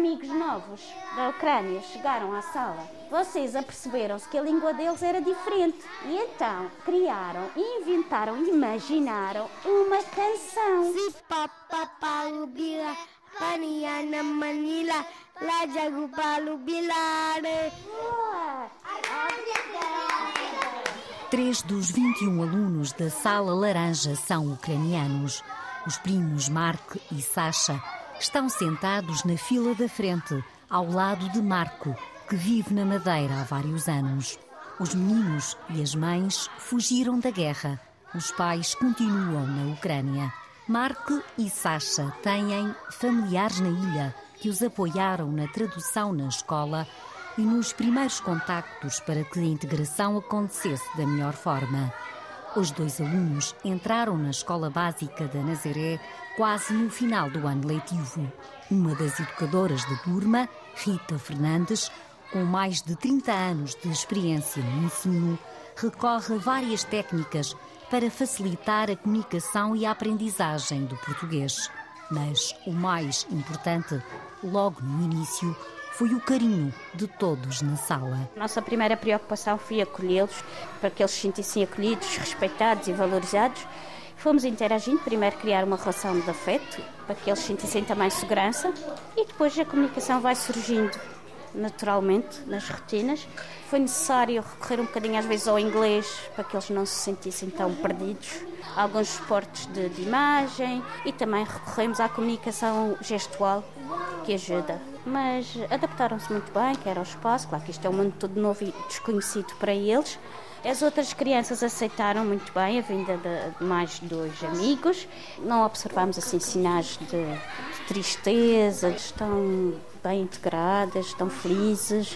amigos novos da Ucrânia chegaram à sala, vocês aperceberam-se que a língua deles era diferente. E então criaram, inventaram, imaginaram uma canção. Três dos 21 alunos da Sala Laranja são ucranianos. Os primos Mark e Sasha estão sentados na fila da frente, ao lado de Marco, que vive na Madeira há vários anos. Os meninos e as mães fugiram da guerra. Os pais continuam na Ucrânia. Mark e Sasha têm familiares na ilha que os apoiaram na tradução na escola e nos primeiros contactos para que a integração acontecesse da melhor forma. Os dois alunos entraram na escola básica da Nazaré quase no final do ano letivo. Uma das educadoras da turma, Rita Fernandes, com mais de 30 anos de experiência no ensino, recorre a várias técnicas para facilitar a comunicação e a aprendizagem do português. Mas o mais importante, logo no início, foi o carinho de todos na sala. Nossa primeira preocupação foi acolhê-los, para que eles se sentissem acolhidos, respeitados e valorizados. Fomos interagindo, primeiro criar uma relação de afeto, para que eles sentissem também segurança, e depois a comunicação vai surgindo naturalmente nas rotinas. Foi necessário recorrer um bocadinho às vezes ao inglês, para que eles não se sentissem tão perdidos. Alguns suportes de imagem e também recorremos à comunicação gestual, que ajuda. Mas adaptaram-se muito bem, quer ao espaço, claro que isto é um mundo todo novo e desconhecido para eles. As outras crianças aceitaram muito bem a vinda de mais dois amigos. Não observamos assim sinais de tristeza, estão bem integradas, estão felizes.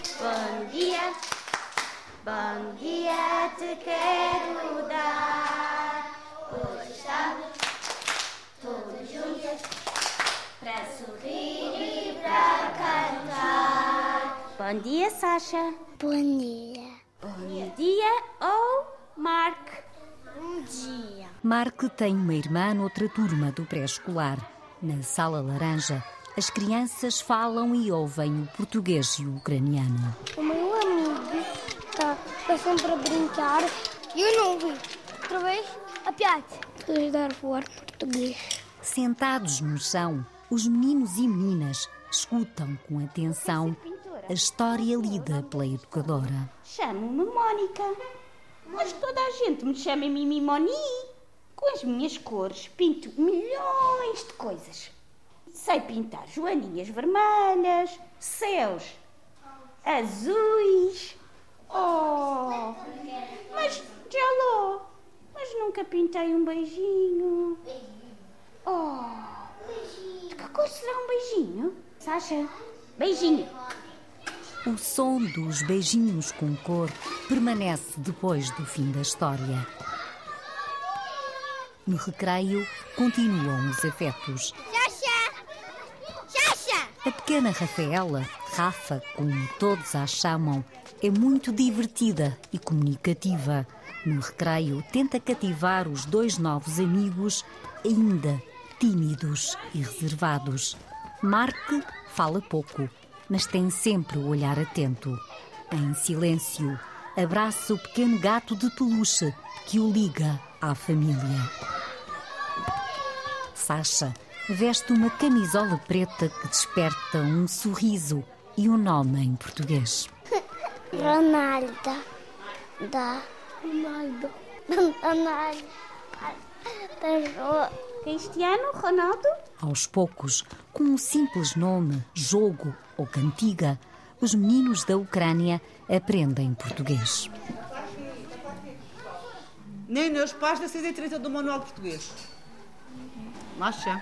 Bom dia te quero dar. Hoje estamos todos juntos para sorrir e para cantar. Bom dia, Sasha. Bom dia. Bom dia, Mark. Bom dia. Mark tem uma irmã noutra turma do pré-escolar. Na Sala Laranja, as crianças falam e ouvem o português e o ucraniano. O meu amigo está sempre a brincar e eu não ouvi. Outra vez, a piada. Podes dar a falar português. Sentados no chão, os meninos e meninas escutam com atenção a história lida pela educadora. Chamo-me Mónica, mas toda a gente me chama Mimimoni. Com as minhas cores pinto milhões de coisas. Sei pintar joaninhas vermelhas, céus azuis. Oh, mas mas nunca pintei um beijinho. Oh, de que cor será um beijinho? Sasha, beijinho. O som dos beijinhos com cor permanece depois do fim da história. No recreio, continuam os afetos. Xaxa! A pequena Rafaela, Rafa, como todos a chamam, é muito divertida e comunicativa. No recreio, tenta cativar os dois novos amigos, ainda tímidos e reservados. Mark fala pouco, mas tem sempre o olhar atento. Em silêncio, abraça o pequeno gato de peluche que o liga à família. Sasha veste uma camisola preta que desperta um sorriso e um nome em português. Ronaldo. Cristiano Ronaldo? Aos poucos, com um simples nome, jogo ou cantiga, os meninos da Ucrânia aprendem português. Nem nas páginas 6 e 30 do Manual de Português. Masha.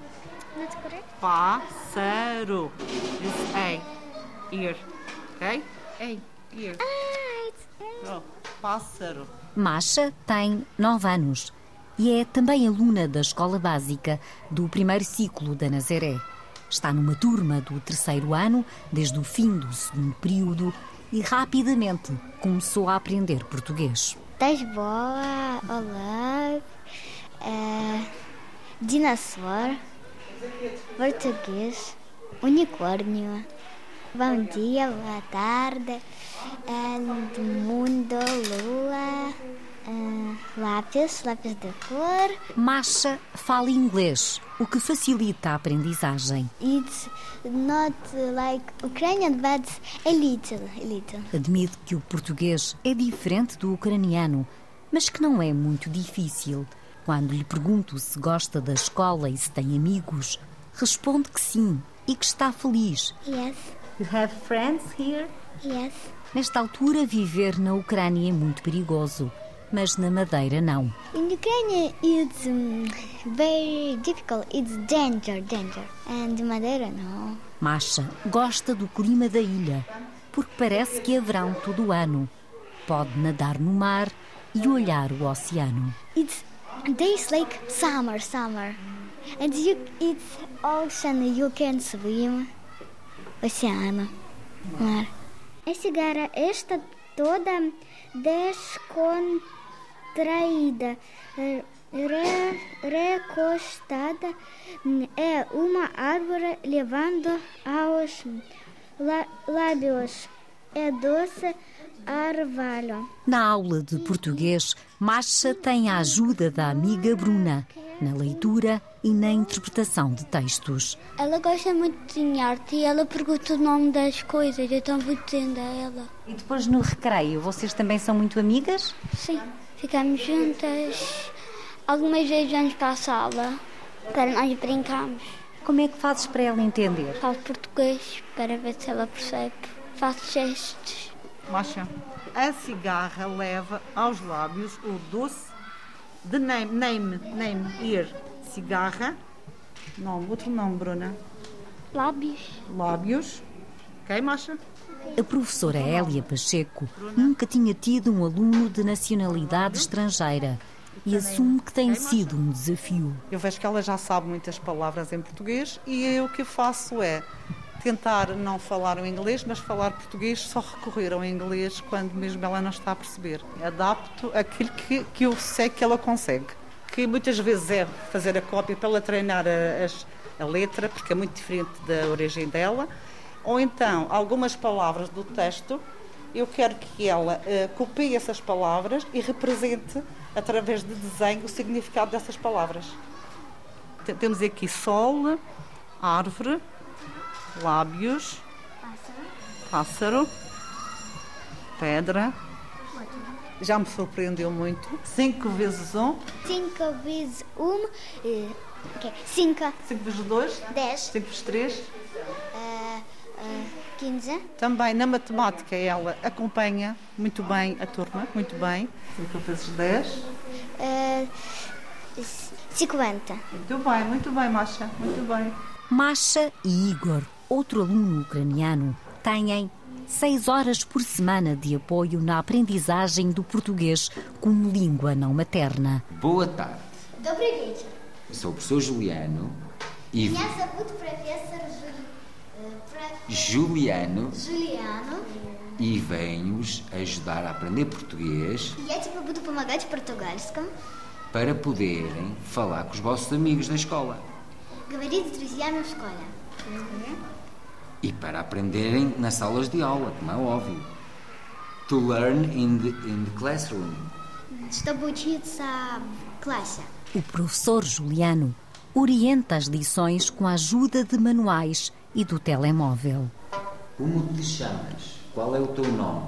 Pássaro. It's A. Ear. Ok? A. Ear. Oh, pássaro. Masha tem 9 anos e é também aluna da escola básica do primeiro ciclo da Nazaré. Está numa turma do 3º ano, desde o fim do 2º período, e rapidamente começou a aprender português. Das bola, olá, dinossauro, português, unicórnio. Bom dia, boa tarde, mundo, lua, lápis de cor. Masha fala inglês, o que facilita a aprendizagem. It's not like Ukrainian, but a little. Admite que o português é diferente do ucraniano, mas que não é muito difícil. Quando lhe pergunto se gosta da escola e se tem amigos, responde que sim e que está feliz. Yes. You have friends here? Yes. Nesta altura, viver na Ucrânia é muito perigoso, mas na Madeira não. In Ukraine, it's very difficult. It's danger. And Madeira, no. Masha gosta do clima da ilha, porque parece que é verão todo o ano. Pode nadar no mar e olhar o oceano. It's days like summer. And it's ocean, you can swim. Oceano, mar. A cigarra está toda descontraída, recostada é uma árvore levando aos lábios. É doce orvalho. Na aula de português, Masha tem a ajuda da amiga Bruna, na leitura e na interpretação de textos. Ela gosta muito de desenhar e ela pergunta o nome das coisas, então vou dizendo a ela. E depois no recreio, vocês também são muito amigas? Sim, ficamos juntas. Algumas vezes vamos para a sala para nós brincarmos. Como é que fazes para ela entender? Falo português para ver se ela percebe. Faço gestos. Masha, a cigarra leva aos lábios o doce de name, here. Cigarra, outro nome, Bruna. Lábios. Ok, Masha? A professora Hélia Pacheco nunca tinha tido um aluno de nacionalidade estrangeira e assume que tem sido um desafio. Eu vejo que ela já sabe muitas palavras em português e o que eu faço é tentar não falar o inglês, mas falar português, só recorrer ao inglês quando mesmo ela não está a perceber. Adapto aquilo que eu sei que ela consegue. Que muitas vezes é fazer a cópia para ela treinar a letra, porque é muito diferente da origem dela. Ou então, algumas palavras do texto, eu quero que ela copie essas palavras e represente, através de desenho, o significado dessas palavras. Temos aqui sol, árvore, lábios, pássaro, pedra. Já me surpreendeu muito. 5 vezes 1. 5 vezes 1. 5. 5 vezes 2. 10. 5 vezes 3. 15. Também na matemática ela acompanha muito bem a turma, muito bem. 5 vezes 10. 50. Muito bem, Masha, muito bem. Masha e Igor, outro aluno ucraniano, têm 6 horas por semana de apoio na aprendizagem do português como língua não materna. Boa tarde. Добрый вечер. Eu sou o professor Juliano e... Меня зовут профессор Juliano Juliano. E venho-os ajudar a aprender português. Я тебе буду помогать в португальском. Para poderem falar com os vossos amigos da escola. Говорить с друзьями в школе. E para aprenderem nas salas de aula, como é óbvio. To learn in the classroom. Чтобы учиться в классе. O professor Juliano orienta as lições com a ajuda de manuais e do telemóvel. Como te chamas? Qual é o teu nome?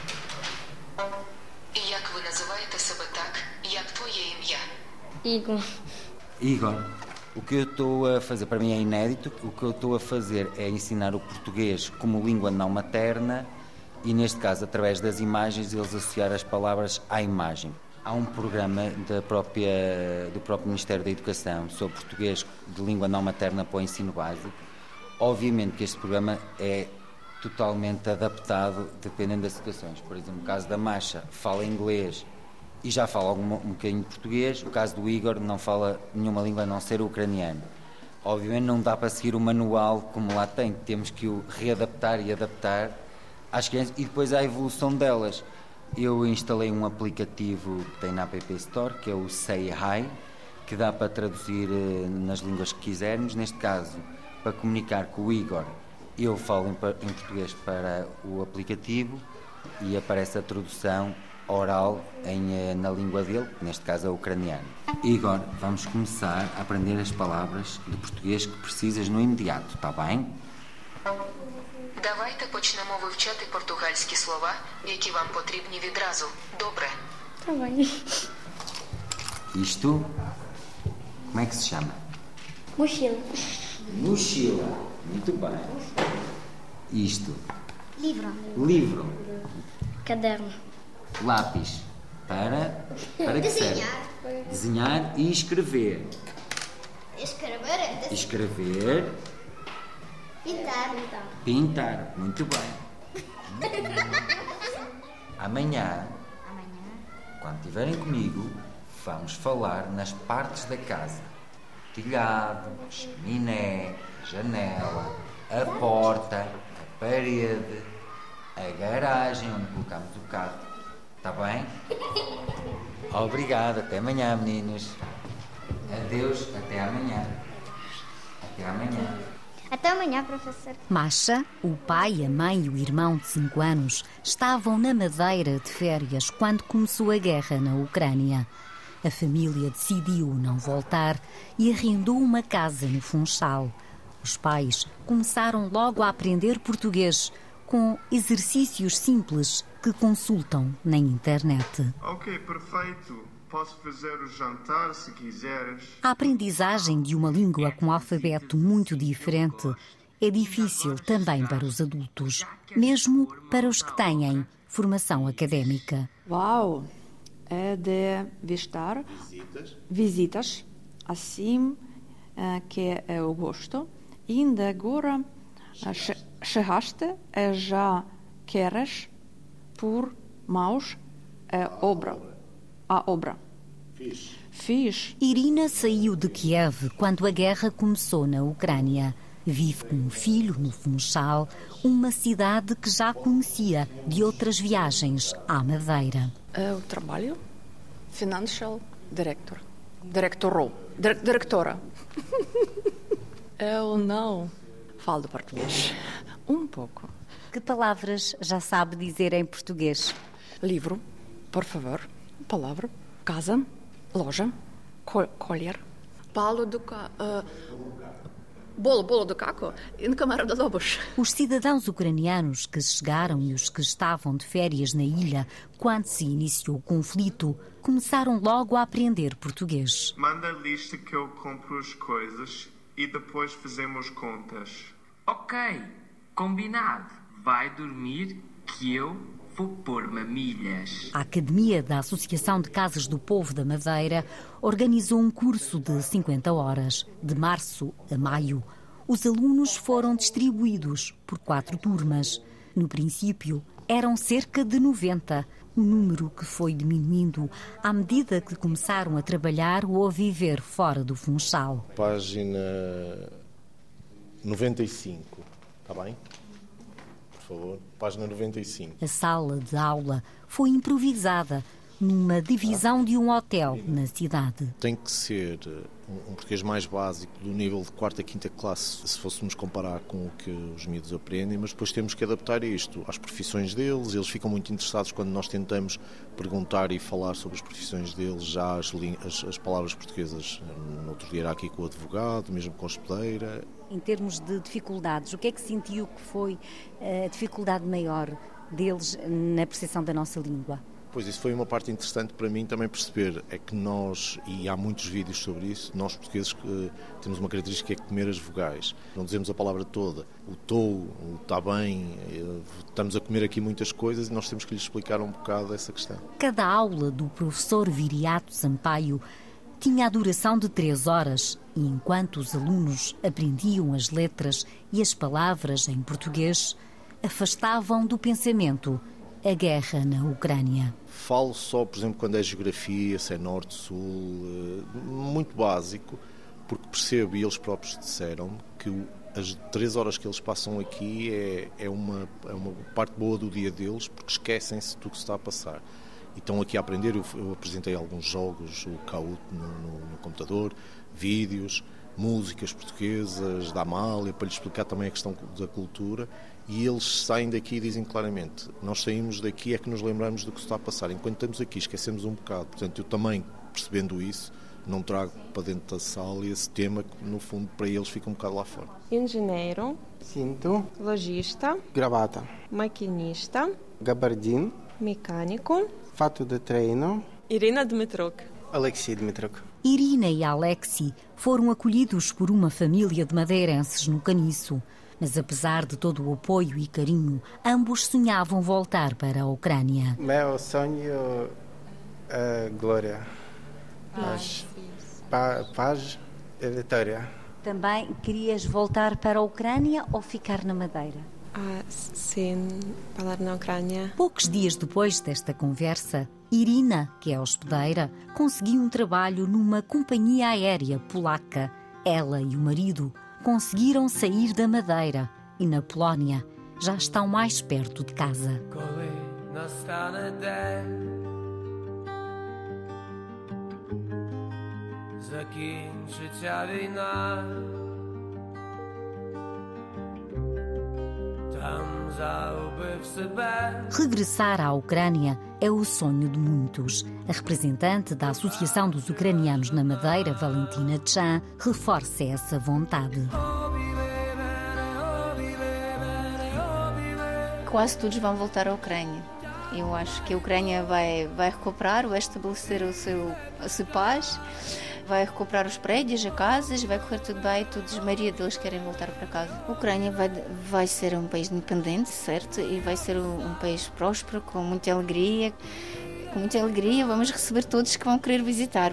Як ви називаєте себе так, як твоє ім'я? Igor. Igor. O que eu estou a fazer, para mim é inédito, o que eu estou a fazer é ensinar o português como língua não materna e, neste caso, através das imagens, eles associar as palavras à imagem. Há um programa do próprio Ministério da Educação sobre português de língua não materna para o ensino básico. Obviamente que este programa é totalmente adaptado dependendo das situações. Por exemplo, no caso da Masha, fala inglês e já fala um bocadinho de português. No caso do Igor, não fala nenhuma língua a não ser o ucraniano. Obviamente não dá para seguir o manual como lá tem. Temos que o readaptar e adaptar às crianças e depois à evolução delas. Eu instalei um aplicativo que tem na App Store, que é o Say Hi, que dá para traduzir nas línguas que quisermos. Neste caso, para comunicar com o Igor. Eu falo em português para o aplicativo e aparece a tradução oral na língua dele, neste caso é o ucraniano. Igor, vamos começar a aprender as palavras de português que precisas no imediato, está bem? Давайте почнемо вивчати португальські слова, які вам потрібні відразу. Добре? Tá bem. Isto, como é que se chama? Mochila. Mochila. Muito bem. Isto, Livro. livro. Caderno. Lápis. Para que serve? Desenhar e escrever. Escrever. Escrever, Pintar. pintar. Muito bem. Amanhã, quando estiverem comigo, vamos falar nas partes da casa. Telhado, chaminé, janela, a porta, a parede, a garagem onde colocamos o carro. Está bem? Obrigado. Até amanhã, meninos. Adeus. Até amanhã. Até amanhã. Até amanhã, professor. Masha, o pai, a mãe e o irmão de 5 anos estavam na Madeira de férias quando começou a guerra na Ucrânia. A família decidiu não voltar e arrendou uma casa no Funchal. Os pais começaram logo a aprender português com exercícios simples que consultam na internet. Ok, perfeito. Posso fazer o jantar se quiseres. A aprendizagem de uma língua com um alfabeto muito diferente é difícil também para os adultos, mesmo para os que têm formação académica. Uau! É de visitas, assim que eu gosto. E ainda agora chegaste e já queres por mãos a obra. Fiz. Irina saiu de Kiev quando a guerra começou na Ucrânia. Vive com um filho no Funchal, uma cidade que já conhecia de outras viagens à Madeira. Eu trabalho Financial Director. Diretora. Eu não falo português. Um pouco. Que palavras já sabe dizer em português? Livro, por favor. Palavra. Casa. Loja. Colher. Bolo do caco e na Câmara de Lobos. Os cidadãos ucranianos que chegaram e os que estavam de férias na ilha quando se iniciou o conflito começaram logo a aprender português. Manda a lista que eu compro as coisas e depois fazemos contas. Ok, combinado. Vai dormir que eu vou pôr mamilhas. A Academia da Associação de Casas do Povo da Madeira organizou um curso de 50 horas. De março a maio, os alunos foram distribuídos por 4 turmas. No princípio, eram cerca de 90, um número que foi diminuindo à medida que começaram a trabalhar ou a viver fora do Funchal. Página 95, está bem? Por favor, página 95. A sala de aula foi improvisada numa divisão de um hotel na cidade. Tem que ser um português mais básico, do nível de 4ª, 5ª classe, se fôssemos comparar com o que os miúdos aprendem, mas depois temos que adaptar isto às profissões deles. Eles ficam muito interessados quando nós tentamos perguntar e falar sobre as profissões deles, já as palavras portuguesas. No outro dia era aqui com o advogado, mesmo com a hospedeira. Em termos de dificuldades, o que é que sentiu que foi a dificuldade maior deles na percepção da nossa língua? Pois, isso foi uma parte interessante para mim também perceber, é que nós, e há muitos vídeos sobre isso, nós portugueses temos uma característica que é comer as vogais. Não dizemos a palavra toda. O estou, o está bem, estamos a comer aqui muitas coisas e nós temos que lhes explicar um bocado essa questão. Cada aula do professor Viriato Sampaio tinha a duração de 3 horas e enquanto os alunos aprendiam as letras e as palavras em português, afastavam do pensamento a guerra na Ucrânia. Falo só, por exemplo, quando é geografia, se é norte, sul, muito básico, porque percebo, e eles próprios disseram, que as 3 horas que eles passam aqui é uma parte boa do dia deles, porque esquecem-se do que se está a passar. E estão aqui a aprender. Eu apresentei alguns jogos, o Kahoot no computador, vídeos, músicas portuguesas, da Amália, para lhes explicar também a questão da cultura, e eles saem daqui e dizem claramente: nós saímos daqui é que nos lembramos do que se está a passar, enquanto estamos aqui esquecemos um bocado. Portanto, eu também, percebendo isso, não trago para dentro da sala esse tema que, no fundo, para eles fica um bocado lá fora. Engenheiro, cinto, lojista, gravata, maquinista, gabardine, mecânico, fato de treino, Irina Dmitruk. Alexei Dmitruk. Irina e Alexei foram acolhidos por uma família de madeirenses no Caniço. Mas apesar de todo o apoio e carinho, ambos sonhavam voltar para a Ucrânia. Meu sonho é glória, paz e vitória. Também querias voltar para a Ucrânia ou ficar na Madeira? Sim, falar na Ucrânia. Poucos dias depois desta conversa, Irina, que é hospedeira, conseguiu um trabalho numa companhia aérea polaca. Ela e o marido conseguiram sair da Madeira e, na Polónia, já estão mais perto de casa. Regressar à Ucrânia é o sonho de muitos. A representante da Associação dos Ucranianos na Madeira, Valentina Chan, reforça essa vontade. Quase todos vão voltar à Ucrânia. Eu acho que a Ucrânia vai recuperar, vai estabelecer a sua paz, vai recuperar os prédios, as casas, vai correr tudo bem, todos, a maioria deles querem voltar para casa. A Ucrânia vai ser um país independente, certo? E vai ser um país próspero, com muita alegria. Com muita alegria vamos receber todos que vão querer visitar.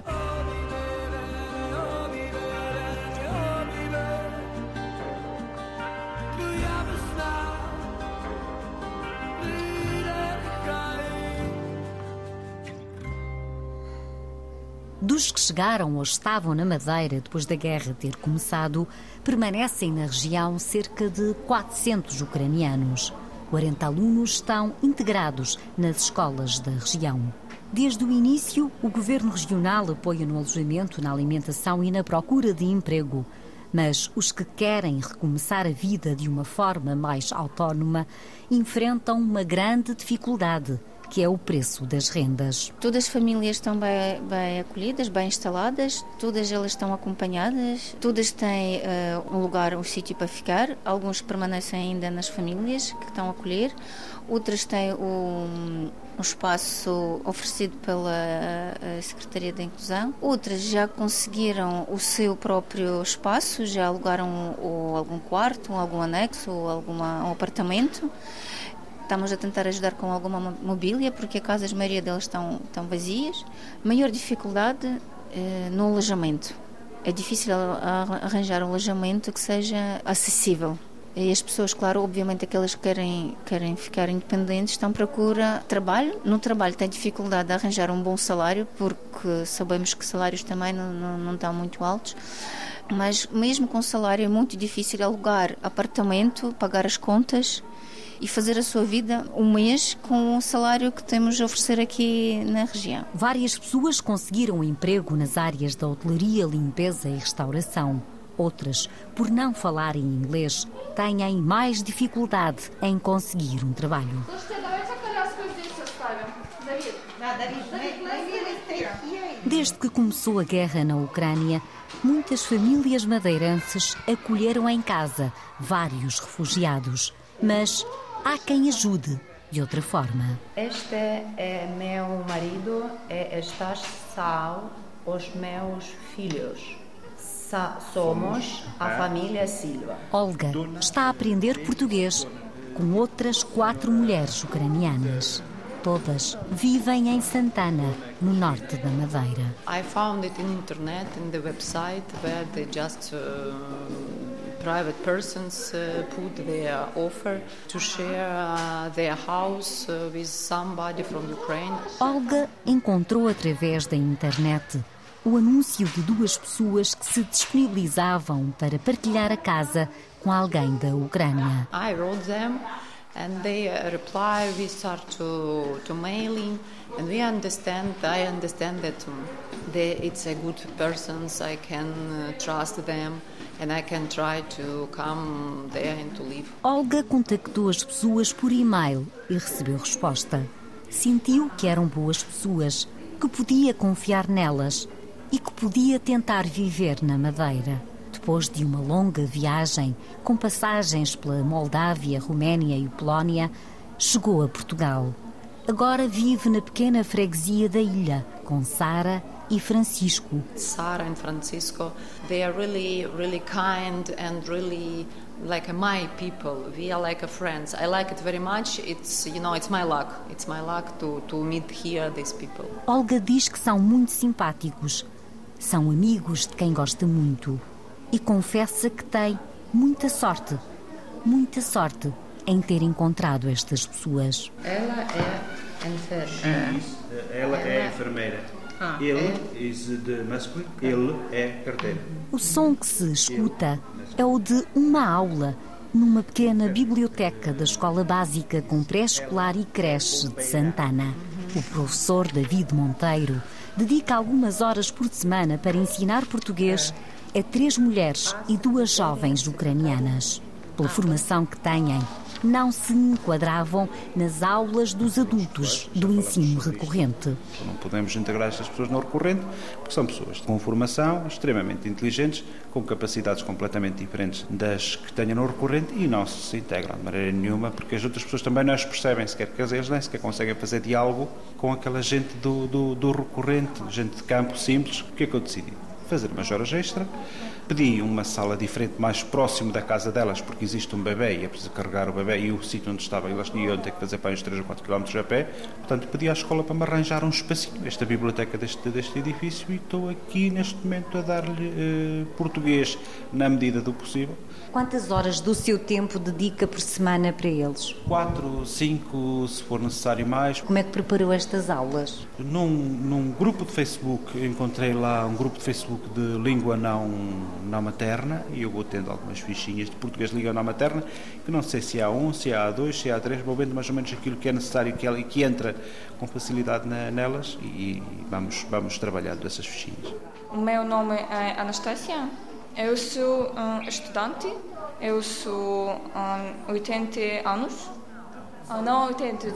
Dos que chegaram ou estavam na Madeira depois da guerra ter começado, permanecem na região cerca de 400 ucranianos. 40 alunos estão integrados nas escolas da região. Desde o início, o Governo Regional apoia no alojamento, na alimentação e na procura de emprego. Mas os que querem recomeçar a vida de uma forma mais autónoma enfrentam uma grande dificuldade, que é o preço das rendas. Todas as famílias estão bem acolhidas, bem instaladas, todas elas estão acompanhadas, todas têm um lugar, um sítio para ficar. Alguns permanecem ainda nas famílias que estão a acolher, outras têm um espaço oferecido pela Secretaria da Inclusão, outras já conseguiram o seu próprio espaço, já alugaram ou algum quarto, ou algum anexo, ou um apartamento. Estamos a tentar ajudar com alguma mobília, porque a maioria delas estão vazias. Maior dificuldade no alojamento. É difícil arranjar um alojamento que seja acessível. E as pessoas, claro, obviamente aquelas que querem ficar independentes, estão à procura de trabalho. No trabalho tem dificuldade de arranjar um bom salário, porque sabemos que salários também não estão muito altos. Mas mesmo com salário é muito difícil alugar apartamento, pagar as contas e fazer a sua vida um mês com o salário que temos a oferecer aqui na região. Várias pessoas conseguiram emprego nas áreas da hotelaria, limpeza e restauração. Outras, por não falarem inglês, têm mais dificuldade em conseguir um trabalho. Desde que começou a guerra na Ucrânia, muitas famílias madeirenses acolheram em casa vários refugiados. Mas há quem ajude de outra forma. Este é meu marido e estas são os meus filhos. Somos a família Silva. Olga está a aprender português com outras 4 mulheres ucranianas. Todas vivem em Santana, no norte da Madeira. I found it in internet, in the website, where they just private persons put their offer to share their house with somebody from Ukraine. Olga encontrou através da internet o anúncio de 2 pessoas que se disponibilizavam para partilhar a casa com alguém da Ucrânia. I wrote them And they reply, we start to mailing, and I understand that it's a good persons, I can trust them, and I can try to come there and to live. Olga contactou as pessoas por e-mail e recebeu resposta. Sentiu que eram boas pessoas, que podia confiar nelas e que podia tentar viver na Madeira. Depois de uma longa viagem, com passagens pela Moldávia, Roménia e Polónia, chegou a Portugal. Agora vive na pequena freguesia da ilha, com Sara e Francisco. Sara and Francisco, they are really, really kind and really like my people. We are like friends. I like it very much. It's my luck. It's my luck to meet here these people. Olga diz que são muito simpáticos. São amigos de quem gosta muito. E confessa que tem muita sorte em ter encontrado estas pessoas. Ela é enfermeira. Ela é enfermeira. Ele é de masculino, ele é carteiro. O som que se escuta é o de uma aula numa pequena biblioteca da Escola Básica com Pré-Escolar e Creche de Santana. O professor David Monteiro dedica algumas horas por semana para ensinar português a 3 mulheres e 2 jovens ucranianas. Pela formação que têm, não se enquadravam nas aulas dos adultos do ensino recorrente. Não podemos integrar estas pessoas no recorrente porque são pessoas com formação extremamente inteligentes, com capacidades completamente diferentes das que tenham no recorrente e não se integram de maneira nenhuma porque as outras pessoas também não as percebem sequer, porque eles nem sequer conseguem fazer diálogo com aquela gente do recorrente, gente de campo simples. O que é que eu decidi? Fazer umas horas extra, pedi uma sala diferente mais próximo da casa delas porque existe um bebê e é preciso carregar o bebê e o sítio onde estava elas iam ter que fazer para uns 3 ou 4 km a pé, portanto pedi à escola para me arranjar um espacinho, esta biblioteca deste edifício, e estou aqui neste momento a dar-lhe português na medida do possível. Quantas horas do seu tempo dedica por semana para eles? 4, 5, se for necessário mais. Como é que preparou estas aulas? Num grupo de Facebook, encontrei lá um grupo de Facebook de língua não materna e eu vou tendo algumas fichinhas de português de língua não materna, que não sei se há A1, se há A2, se há A3, vou vendo mais ou menos aquilo que é necessário e que entra com facilidade nelas e vamos trabalhando essas fichinhas. O meu nome é Anastácia. Eu sou estudante, eu sou 80 anos, não 80,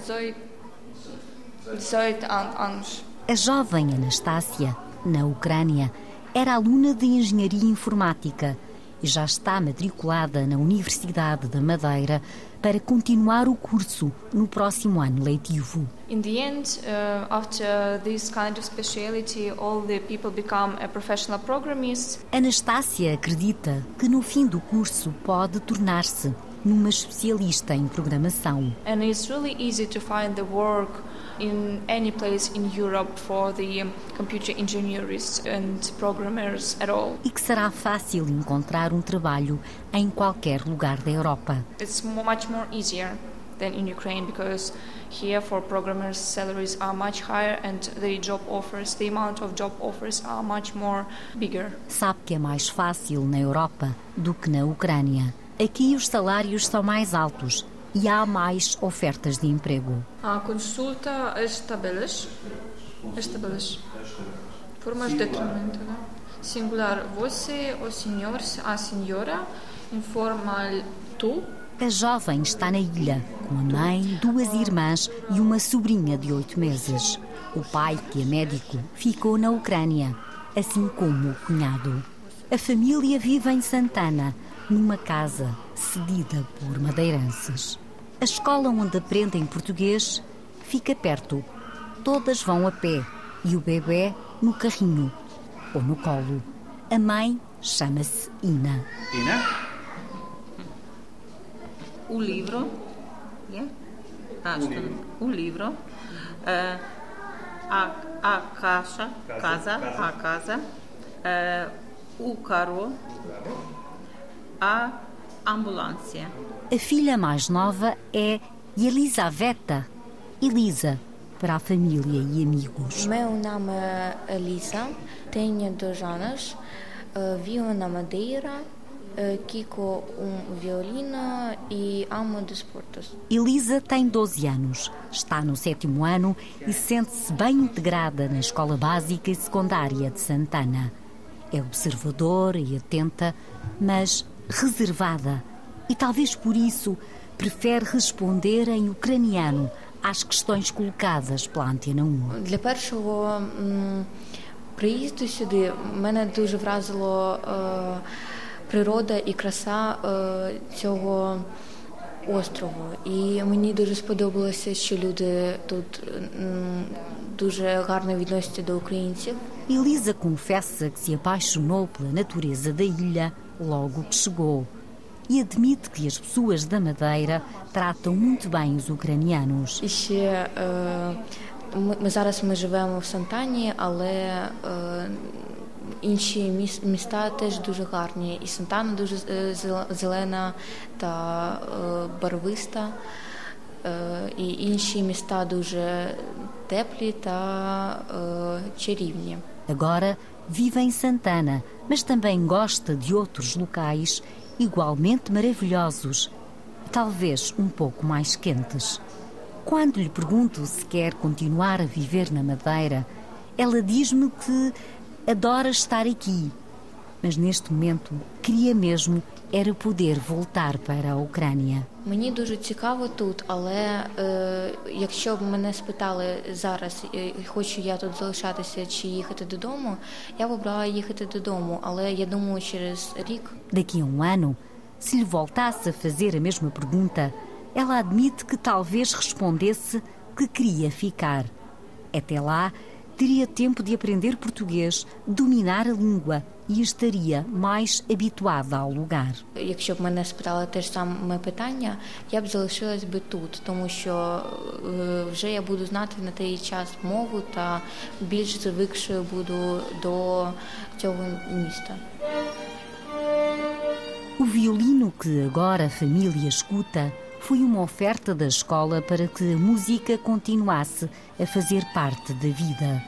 18 anos. A jovem Anastácia, na Ucrânia, era aluna de Engenharia Informática e já está matriculada na Universidade da Madeira para continuar o curso no próximo ano letivo. In the end, after this kind of speciality, all the people become a professional programmist. Anastácia acredita que no fim do curso pode tornar-se numa especialista em programação. And it's really easy to find the work in any place in Europe for the computer engineers and programmers at all. E que será fácil encontrar um trabalho em qualquer lugar da Europa. It's much more easier than in Ukraine because here for programmers salaries are much higher and the amount of job offers are much more bigger. Sabe que é mais fácil na Europa do que na Ucrânia. Aqui os salários são mais altos e há mais ofertas de emprego. Consulta as tabelas. Formas de determinante. Singular você, o senhor, a senhora. Informal tu. A jovem está na ilha, com a mãe, 2 irmãs e uma sobrinha de 8 meses. O pai, que é médico, ficou na Ucrânia, assim como o cunhado. A família vive em Santana, numa casa cedida por madeirenses. A escola onde aprendem português fica perto. Todas vão a pé e o bebê no carrinho ou no colo. A mãe chama-se Ina. Ina? O livro. O livro. A casa. O carro. A ambulância. A filha mais nova é Elisaveta, Elisa, para a família e amigos. Meu nome é Elisa, tenho 2 anos, vivo na Madeira, Kiko violino e amo desportos. Elisa tem 12 anos, está no 7º ano e sente-se bem integrada na escola básica e secundária de Santana. É observadora e atenta, mas reservada. E talvez por isso prefere responder em ucraniano às questões colocadas pela Antena 1. Для першого приїзду сюди мене дуже вразило природа і краса цього острову. І мені дуже сподобалося, що люди тут дуже гарно відносяться до українців. Elisa confessa que se apaixonou pela natureza da ilha logo que chegou e admite que as pessoas da Madeira tratam muito bem os ucranianos. І ще зараз ми живемо в Сантані, але інші міста теж дуже гарні. І Сантана дуже зелена та барвиста, і інші міста дуже теплі та чарівні. Agora vive em Santana, mas também gosta de outros locais igualmente maravilhosos, talvez um pouco mais quentes. Quando lhe pergunto se quer continuar a viver na Madeira, ela diz-me que adora estar aqui, mas neste momento queria mesmo era poder voltar para a Ucrânia. Мені дуже цікаво тут, але якщо б мене спитали зараз, хочу я тут залишатися чи їхати додому, я б обрала їхати додому, але я думаю, через рік. Daqui a um ano, se lhe voltasse a fazer a mesma pergunta, ela admite que talvez respondesse que queria ficar. Até lá, teria tempo de aprender português, dominar a língua e estaria mais habituada ao lugar. Якщо б мене спитали те ж саме питання, я б залишилась би тут, тому що вже я буду знати на той час мову та більш звикшою буду до цього міста. O violino que agora a família escuta foi uma oferta da escola para que a música continuasse a fazer parte da vida.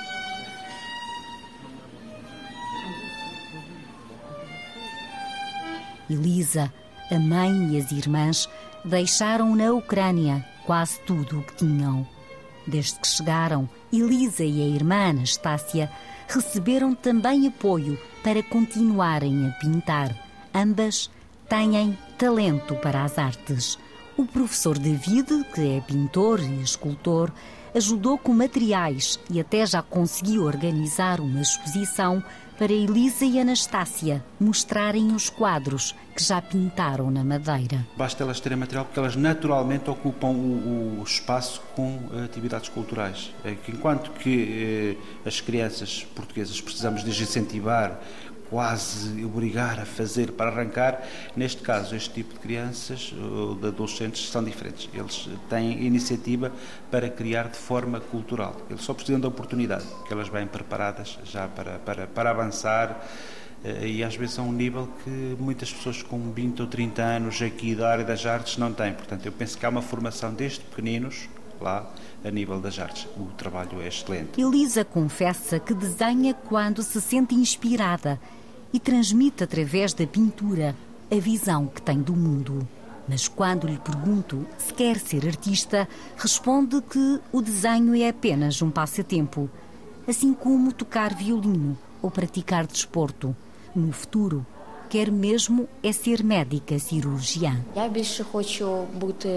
Elisa, a mãe e as irmãs deixaram na Ucrânia quase tudo o que tinham. Desde que chegaram, Elisa e a irmã Anastácia receberam também apoio para continuarem a pintar. Ambas têm talento para as artes. O professor David, que é pintor e escultor, ajudou com materiais e até já conseguiu organizar uma exposição para Elisa e Anastácia mostrarem os quadros que já pintaram na Madeira. Basta elas terem material porque elas naturalmente ocupam o espaço com atividades culturais. Enquanto que as crianças portuguesas precisamos de incentivar, quase obrigar a fazer para arrancar, neste caso este tipo de crianças ou de adolescentes são diferentes. Eles têm iniciativa para criar de forma cultural. Eles só precisam da oportunidade, que elas vêm preparadas já para avançar e às vezes a um nível que muitas pessoas com 20 ou 30 anos aqui da área das artes não têm. Portanto, eu penso que há uma formação desde pequeninos lá a nível das artes. O trabalho é excelente. Elisa confessa que desenha quando se sente inspirada e transmite através da pintura a visão que tem do mundo. Mas quando lhe pergunto se quer ser artista, responde que o desenho é apenas um passatempo, assim como tocar violino ou praticar desporto. No futuro, quer mesmo é ser médica cirurgiã. Я більше хочу бути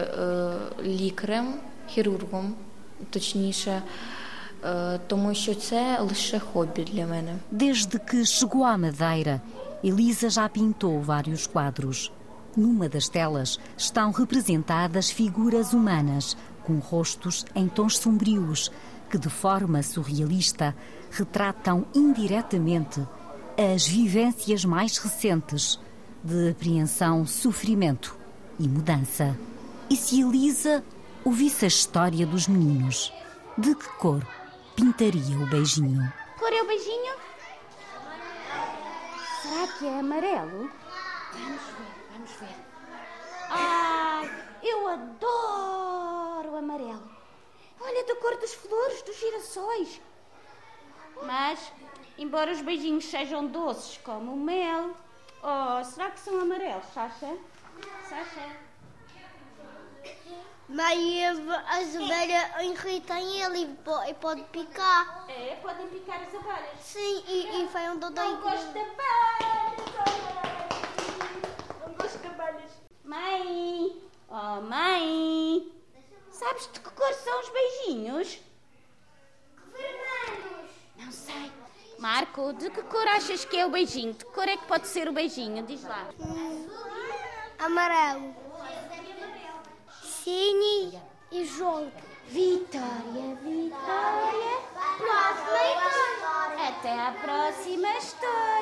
лікарем, хірургом, точніше, тому що це лише хобі для мене. Desde que chegou à Madeira, Elisa já pintou vários quadros. Numa das telas estão representadas figuras humanas com rostos em tons sombrios que, de forma surrealista, retratam indiretamente as vivências mais recentes de apreensão, sofrimento e mudança. E se Elisa ouvisse a história dos meninos, de que cor pintaria o beijinho? Cor é o beijinho? Será que é amarelo? Vamos ver. Ai, eu adoro o amarelo. Olha, da cor das flores, dos girassóis. Mas, embora os beijinhos sejam doces como o mel, Oh, será que são amarelos, Sasha? Sasha? Mas as abelhas irritam ele e pode picar. É, podem picar as abelhas. Sim, e foi um dodói. Não gosto de abelhas. Não gosto de abelhas. Mãe! Oh, mãe! Sabes de que cor são os beijinhos? Vermelhos. Não sei. Marco, de que cor achas que é o beijinho? De que cor é que pode ser o beijinho? Diz lá. Amarelo. Cine e junto. Vitória, Vitória. Próxima história. Até à próxima história.